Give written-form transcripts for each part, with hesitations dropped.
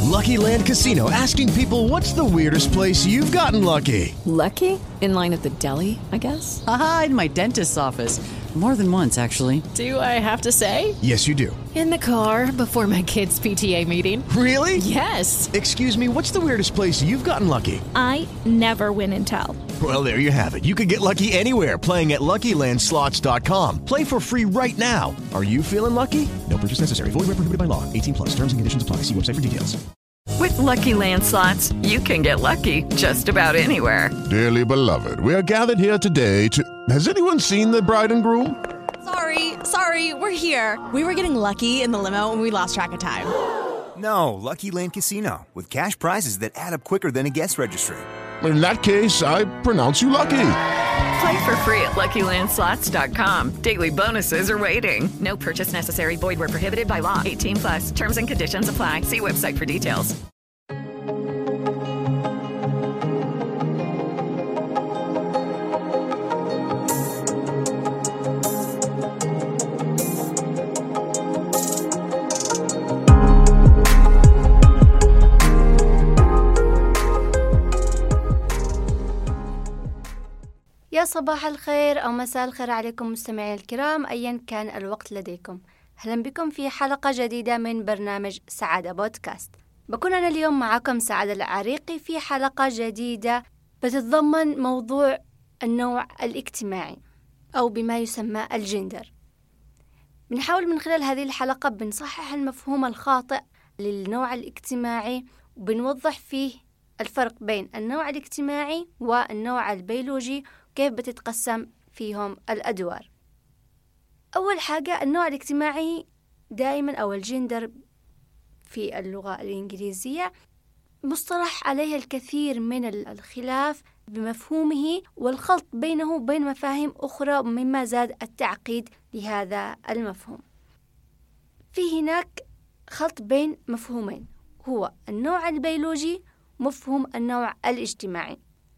Lucky Land Casino, asking people, what's the weirdest place you've gotten lucky? Lucky? In line at the deli, I guess? Aha, in my dentist's office. More than once, actually. Do I have to say? Yes, you do. In the car before my kids' PTA meeting. Really? Yes. Excuse me, what's the weirdest place you've gotten lucky? I never win and tell. Well, there you have it. You can get lucky anywhere, playing at LuckyLandSlots.com. Play for free right now. Are you feeling lucky? No purchase necessary. Void where prohibited by law. 18 plus. Terms and conditions apply. See website for details. With Lucky Land Slots, you can get lucky just about anywhere. Dearly beloved, we are gathered here today to... Has anyone seen the bride and groom? Sorry, we're here. We were getting lucky in the limo and we lost track of time. No, Lucky Land Casino, with cash prizes that add up quicker than a guest registry. In that case, I pronounce you lucky. Play for free at LuckyLandSlots.com. Daily bonuses are waiting. No purchase necessary. Void where prohibited by law. 18 plus. Terms and conditions apply. See website for details. يا صباح الخير أو مساء الخير عليكم مستمعي الكرام أيا كان الوقت لديكم. أهلا بكم في حلقة جديدة من برنامج سعادة بودكاست. بكون أنا اليوم معكم سعادة العريقي في حلقة جديدة بتتضمن موضوع النوع الاجتماعي أو بما يسمى الجندر. بنحاول من خلال هذه الحلقة بنصحح المفهوم الخاطئ للنوع الاجتماعي وبنوضح فيه الفرق بين النوع الاجتماعي والنوع البيولوجي كيف بتتقسم فيهم الأدوار. أول حاجة النوع الاجتماعي دائما أو الجندر في اللغة الإنجليزية مصطلح عليه الكثير من الخلاف بمفهومه والخلط بينه وبين مفاهيم أخرى مما زاد التعقيد لهذا المفهوم. في هناك خلط بين مفهومين هو النوع البيولوجي ومفهوم النوع الاجتماعي.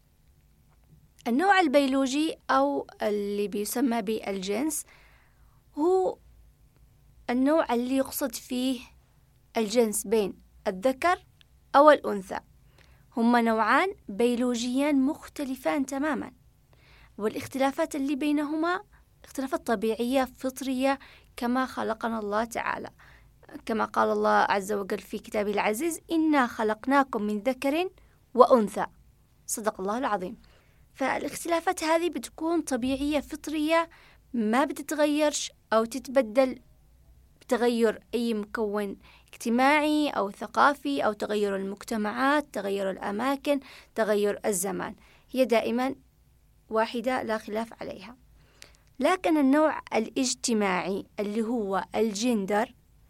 النوع البيولوجي أو اللي بيسمى بالجنس هو النوع اللي يقصد فيه الجنس بين الذكر أو الأنثى. هما نوعان بيولوجيان مختلفان تماما، والاختلافات اللي بينهما اختلافات طبيعية فطرية كما خلقنا الله تعالى، كما قال الله عز وجل في كتابه العزيز: إنا خلقناكم من ذكر وأنثى. صدق الله العظيم. فالاختلافات هذه بتكون طبيعية فطرية ما بتتغيرش أو تتبدل بتغير أي مكون اجتماعي أو ثقافي أو تغير المجتمعات، تغير الأماكن، تغير الزمان، هي دائما واحدة لا خلاف عليها. لكن النوع الاجتماعي اللي هو الجندر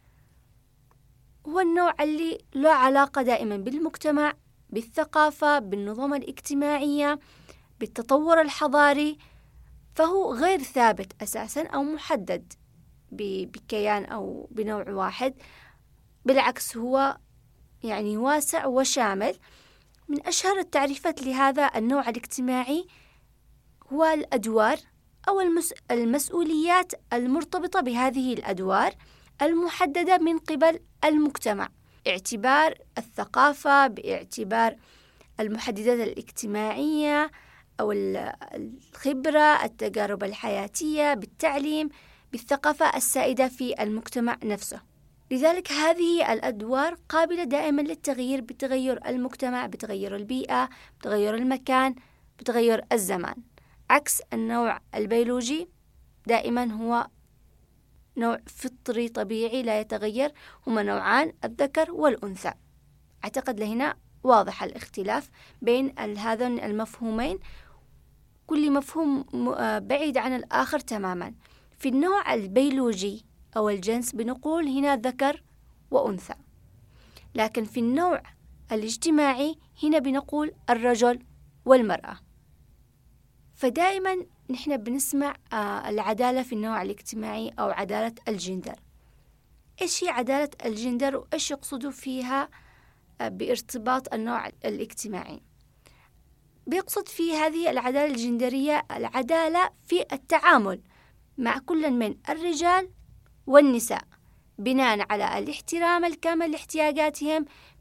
هو النوع اللي له علاقة دائما بالمجتمع، بالثقافة، بالنظم الاجتماعية، بالتطور الحضاري، فهو غير ثابت أساسا أو محدد بكيان أو بنوع واحد. بالعكس هو يعني واسع وشامل. من أشهر التعريفات لهذا النوع الاجتماعي هو الأدوار أو المسؤوليات المرتبطة بهذه الأدوار المحددة من قبل المجتمع، باعتبار الثقافة، باعتبار المحددات الاجتماعية أو الخبرة، التجارب الحياتية، بالتعليم، بالثقافة السائدة في المجتمع نفسه. لذلك هذه الأدوار قابلة دائما للتغيير بتغير المجتمع، بتغير البيئة، بتغير المكان، بتغير الزمان، عكس النوع البيولوجي دائما هو نوع فطري طبيعي لا يتغير. هما نوعان، الذكر والأنثى. أعتقد لهنا واضح الاختلاف بين هذين المفهومين، كل مفهوم بعيد عن الآخر تماما. في النوع البيولوجي أو الجنس بنقول هنا ذكر وأنثى، لكن في النوع الاجتماعي هنا بنقول الرجل والمرأة. فدائما نحن بنسمع العدالة في النوع الاجتماعي أو عدالة الجندر. إيش هي عدالة الجندر وإيش يقصدوا فيها بارتباط النوع الاجتماعي؟ بيقصد في هذه العدالة الجندرية العدالة في التعامل مع كل من الرجال والنساء بناء على الاحترام الكامل لاحتياجاتهم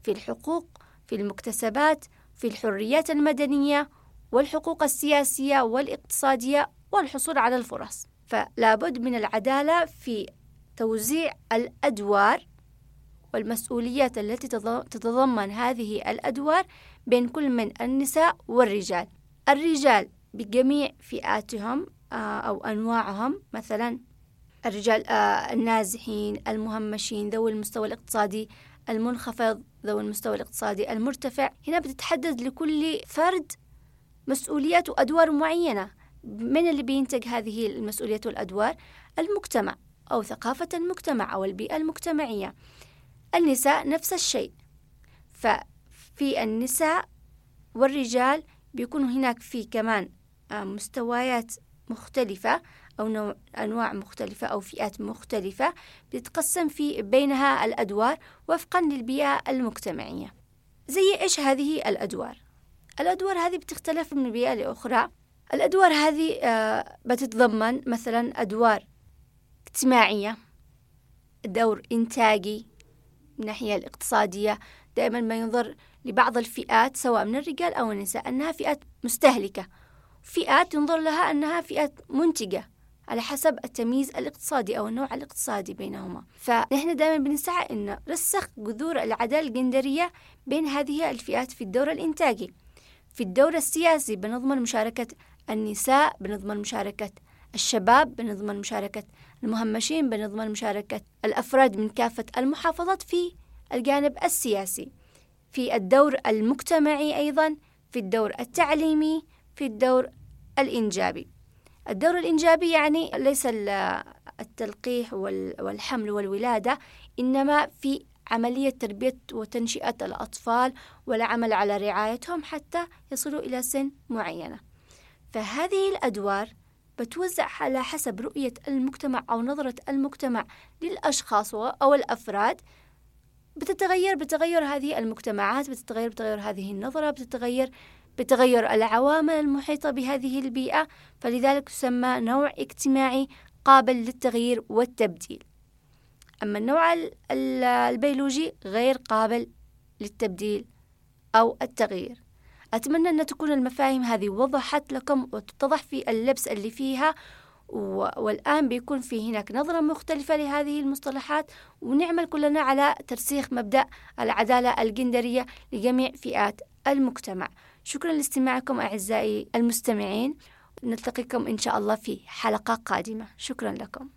في الحقوق، في المكتسبات، في الحريات المدنية والحقوق السياسية والاقتصادية والحصول على الفرص. فلا بد من العدالة في توزيع الأدوار والمسؤوليات التي تتضمن هذه الأدوار بين كل من النساء والرجال. الرجال بجميع فئاتهم أو أنواعهم، مثلا الرجال النازحين، المهمشين، ذوي المستوى الاقتصادي المنخفض، ذوي المستوى الاقتصادي المرتفع. هنا بتتحدد لكل فرد مسؤوليات وأدوار معينة. من اللي بينتج هذه المسؤوليات والأدوار؟ المجتمع أو ثقافة المجتمع أو البيئة المجتمعية. النساء نفس الشيء، ففي النساء والرجال بيكون هناك في كمان مستويات مختلفة أو أنواع مختلفة أو فئات مختلفة بتتقسم في بينها الأدوار وفقا للبيئة المجتمعية. زي إيش هذه الأدوار؟ الأدوار هذه بتختلف من بيئة لأخرى. الأدوار هذه بتتضمن مثلا أدوار اجتماعية، دور إنتاجي من الناحية الاقتصادية. دائما ما ينظر لبعض الفئات سواء من الرجال أو النساء أنها فئات مستهلكة، فئات ينظر لها أنها فئات منتجة على حسب التمييز الاقتصادي أو النوع الاقتصادي بينهما. فنحن دائما بنسعى أن نرسخ جذور العدالة الجندرية بين هذه الفئات في الدور الإنتاجي. في الدور السياسي بنضمن مشاركة النساء، بنضمن مشاركة الشباب، بنضمن مشاركة المهمشين، بنضمن مشاركة الأفراد من كافة المحافظات في الجانب السياسي. في الدور المجتمعي أيضا، في الدور التعليمي، في الدور الإنجابي. الدور الإنجابي يعني ليس التلقيح والحمل والولادة، إنما في عملية تربية وتنشئة الأطفال والعمل على رعايتهم حتى يصلوا إلى سن معينة. فهذه الأدوار بتوزع على حسب رؤية المجتمع أو نظرة المجتمع للأشخاص أو الأفراد. بتتغير هذه المجتمعات، بتتغير هذه النظرة، بتغير العوامل المحيطة بهذه البيئة. فلذلك تسمى نوع اجتماعي قابل للتغيير والتبديل. أما النوع البيولوجي غير قابل للتبديل أو التغيير. أتمنى أن تكون المفاهيم هذه وضحت لكم وتتضح في اللبس اللي فيها، والآن بيكون في هناك نظرة مختلفة لهذه المصطلحات، ونعمل كلنا على ترسيخ مبدأ العدالة الجندرية لجميع فئات المجتمع. شكرا لاستماعكم أعزائي المستمعين، نلتقيكم إن شاء الله في حلقة قادمة. شكرا لكم.